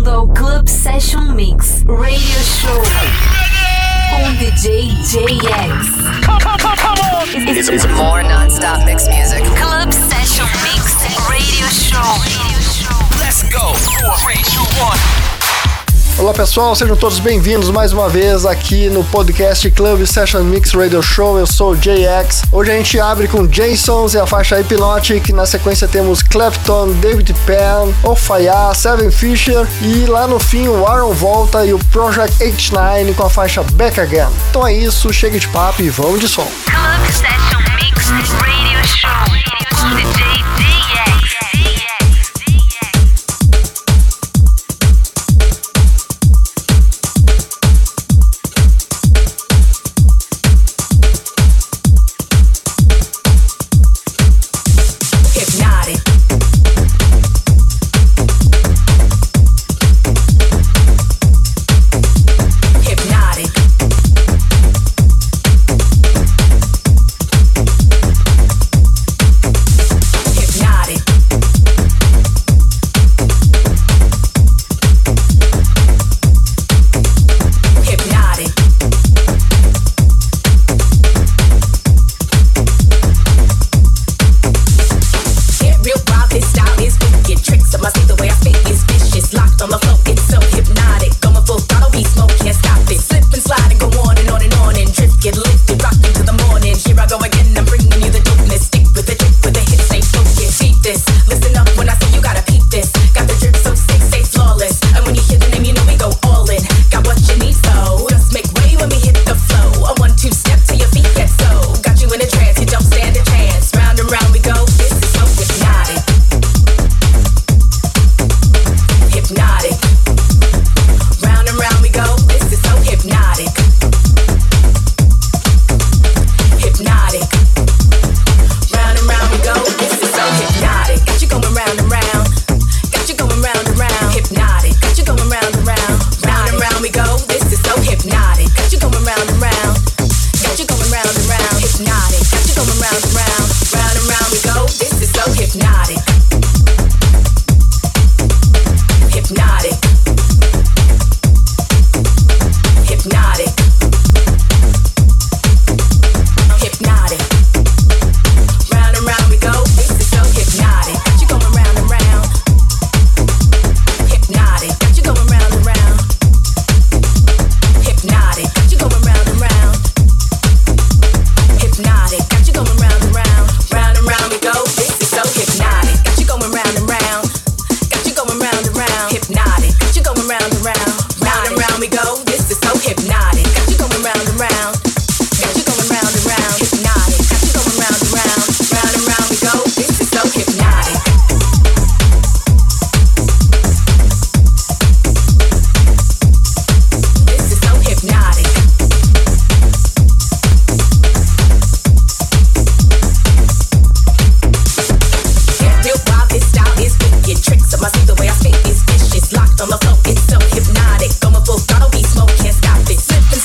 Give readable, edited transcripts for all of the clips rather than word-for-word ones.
bem-vindo ao Club Session Mix Radio Show com DJ JX. It's more non-stop mix music. Club Session Mix Radio Show. Let's go. 3, 2, 1. Olá pessoal, sejam todos bem-vindos mais uma vez aqui no podcast Club Session Mix Radio Show. Eu sou o JX. Hoje a gente abre com Jasons e a faixa Hypnotic. Na sequência temos Clapton, David Penn, Ofaya, Seven Fisher e lá no fim o Aaron volta e o Project H9 com a faixa Back Again. Então é isso, chega de papo e vamos de som. Club Session Mix Radio Show com DJ JX. On the floor, it's so hypnotic. Going full throttle, be smoke, can't stop it. Slip and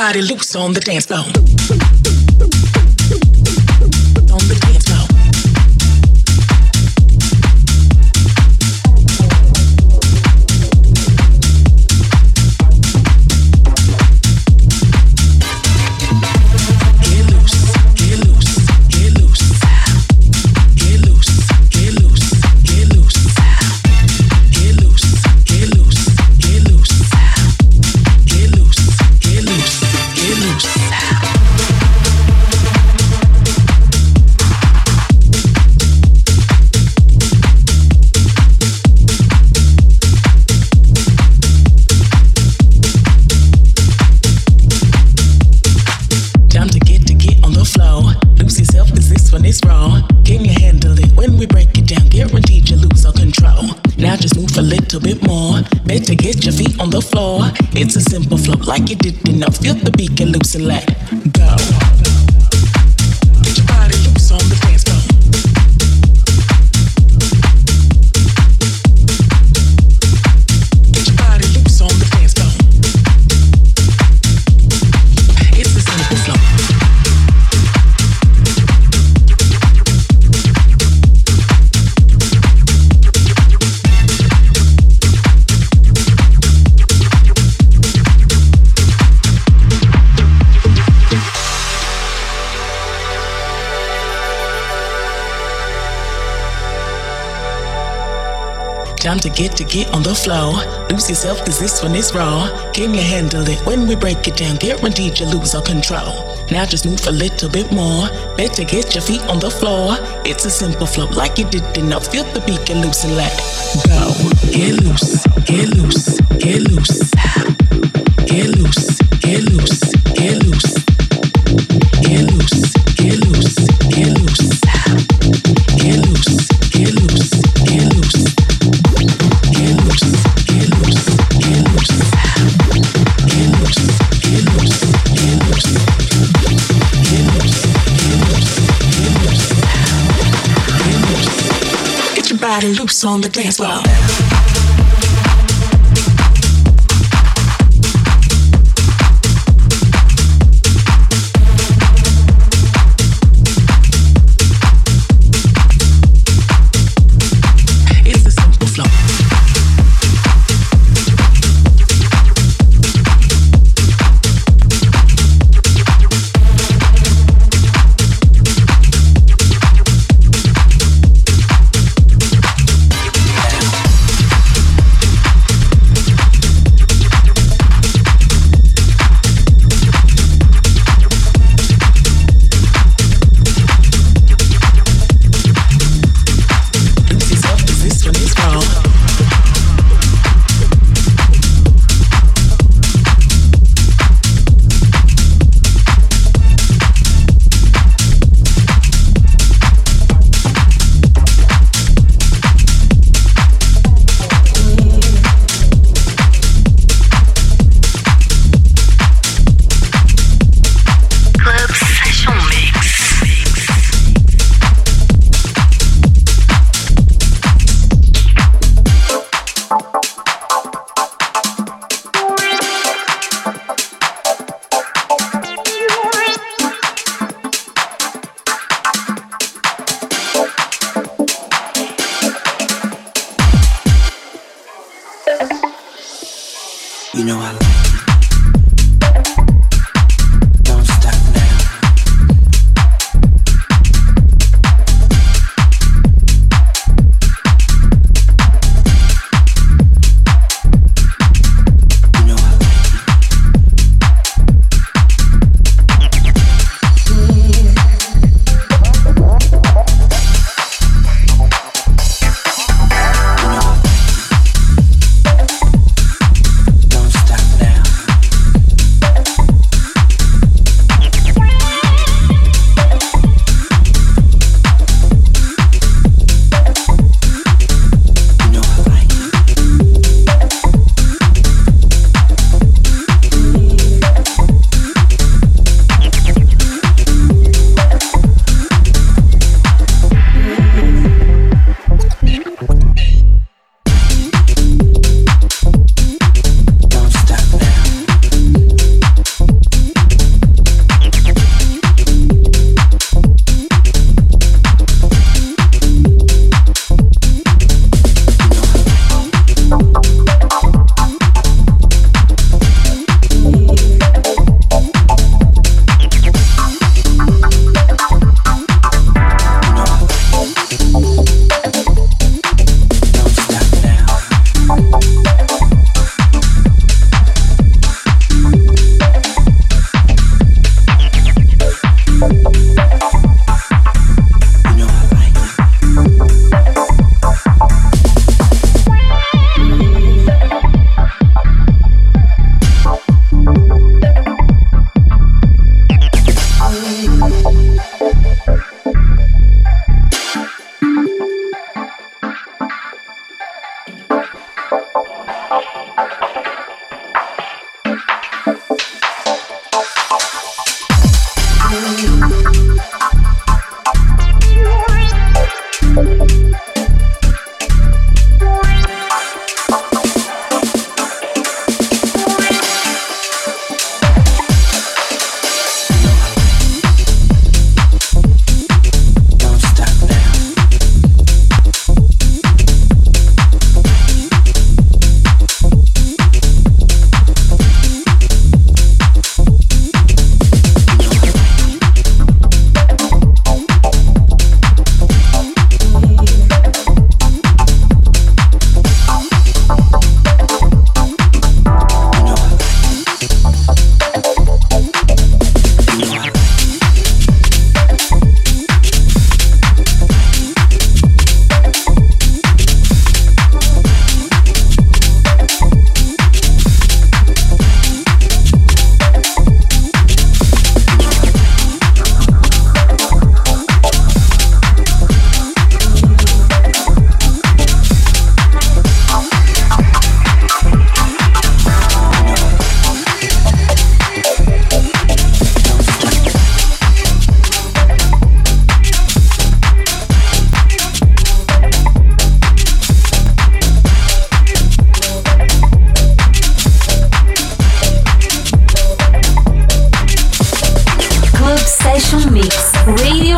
body loose on the dance floor. On the dance floor. To get your feet on the floor, it's a simple flow, like you did enough. Feel the beat, get loose and let go. Get your body loose on the dance floor. Get your body loose on the dance floor. It's a simple flow. Time to get on the floor. Lose yourself, cause this one is raw. Can you handle it when we break it down? Guaranteed you lose all control. Now just move a little bit more. Better get your feet on the floor. It's a simple flow, like you did enough. Feel the beat, get loose and let go. Get loose, get loose, get loose. Get loose, get loose, get loose. Get loose, get loose, get loose. Get loose, get loose, get loose. Get your body loose on the dance floor. You know I like it. Don't stop now. You know I like it. Don't stop now.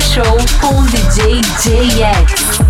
Show com o DJ JX.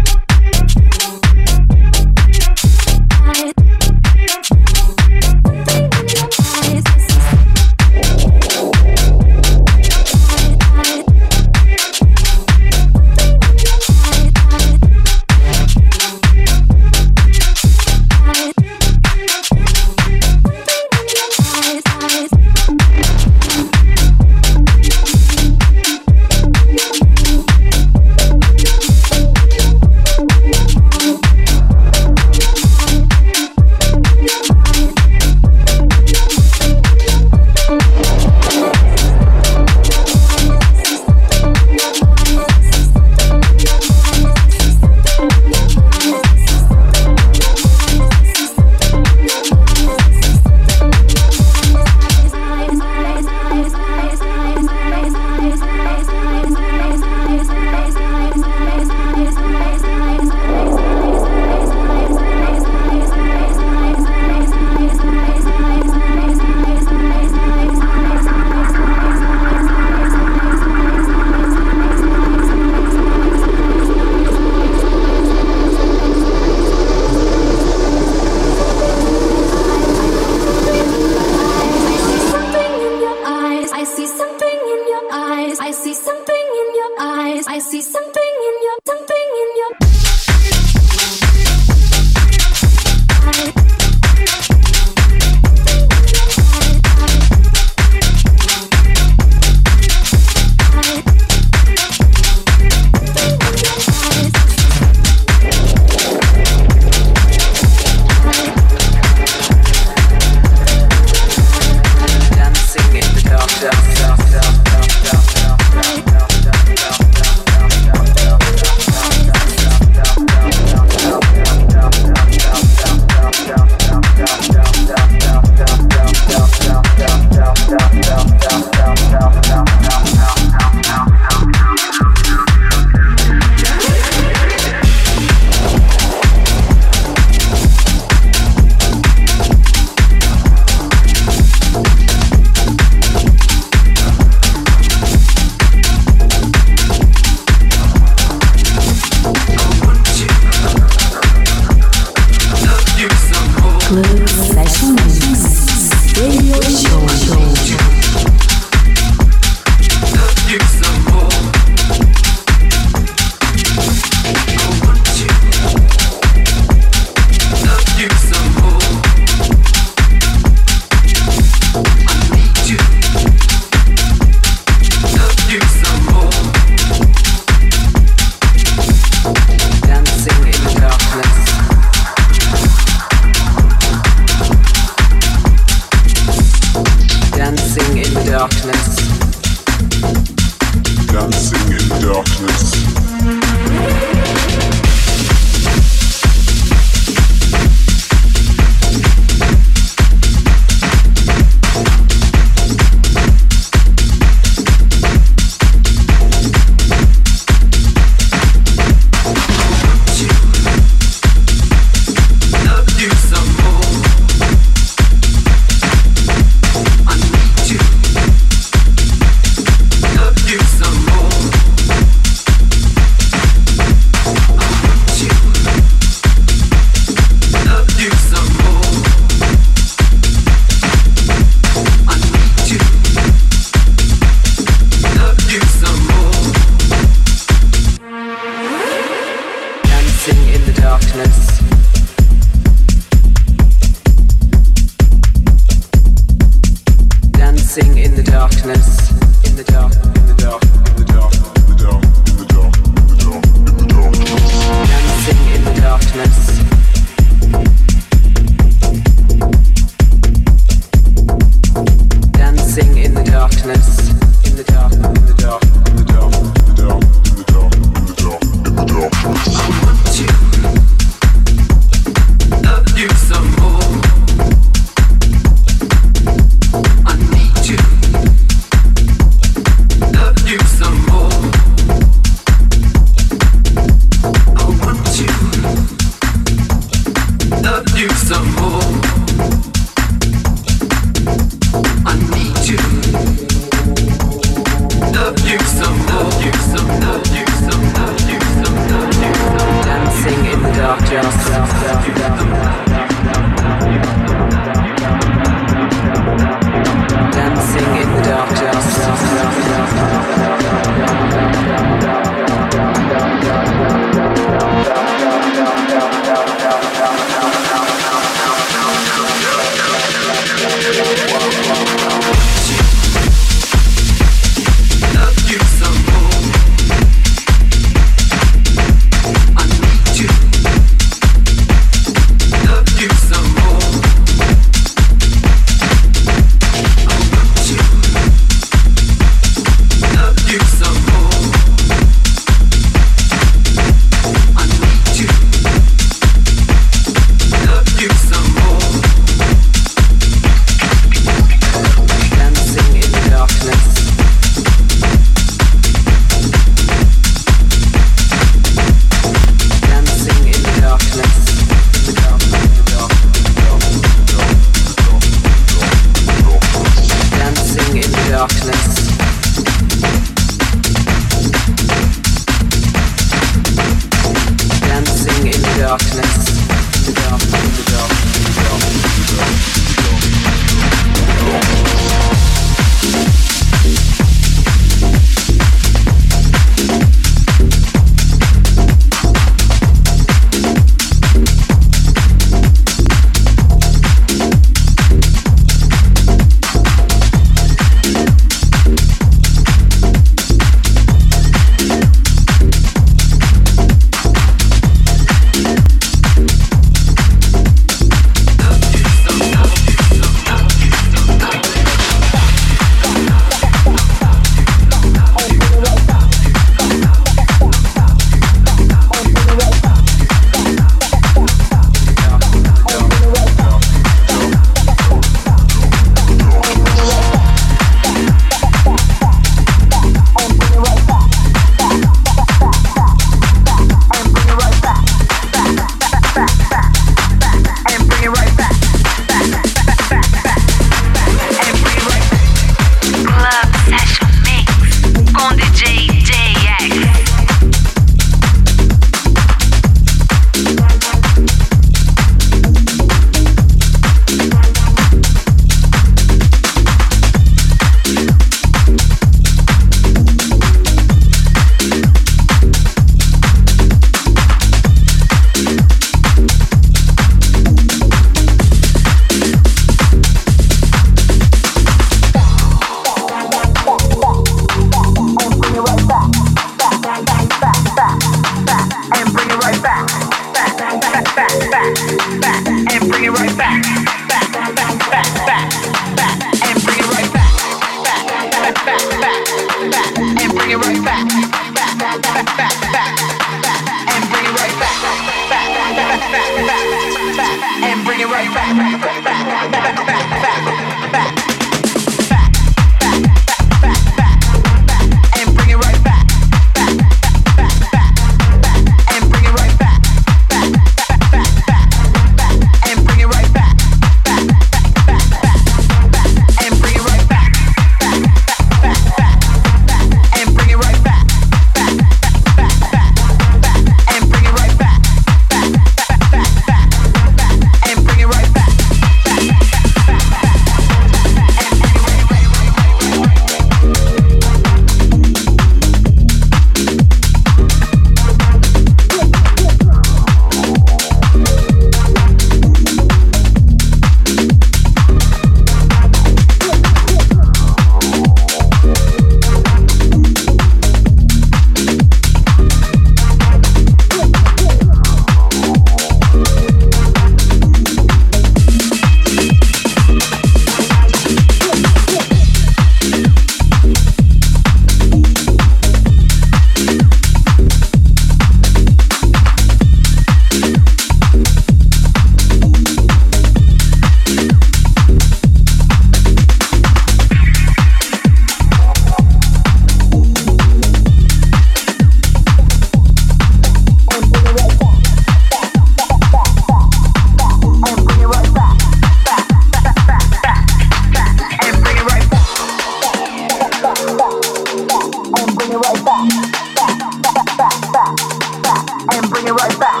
it right back,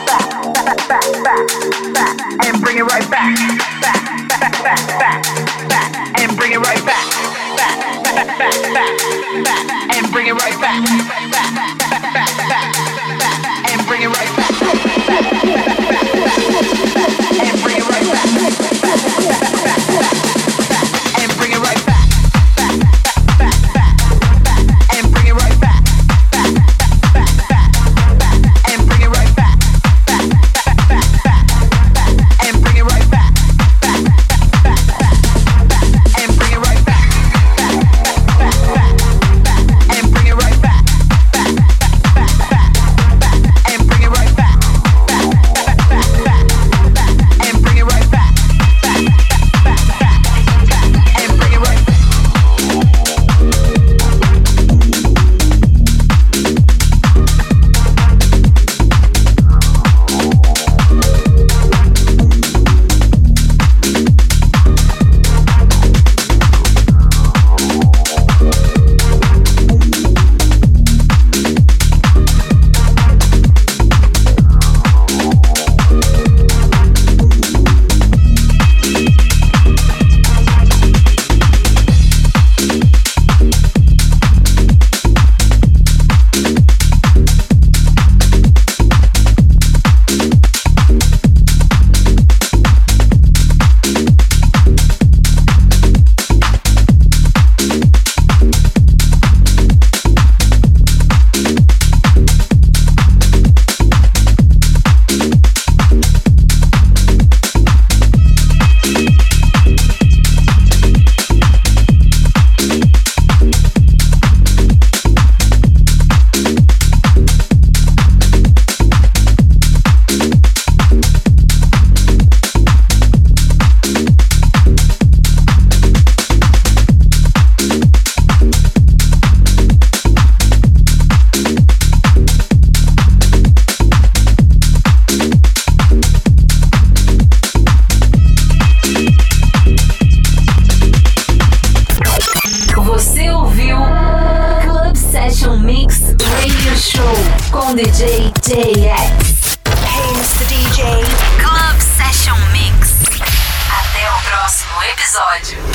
and bring it right back, and bring it right back, and bring it right back, and bring it right back, and bring it right back, and bring it right back. DJ JX. Hey, Mr. DJ. Club Session Mix. Até o próximo episódio.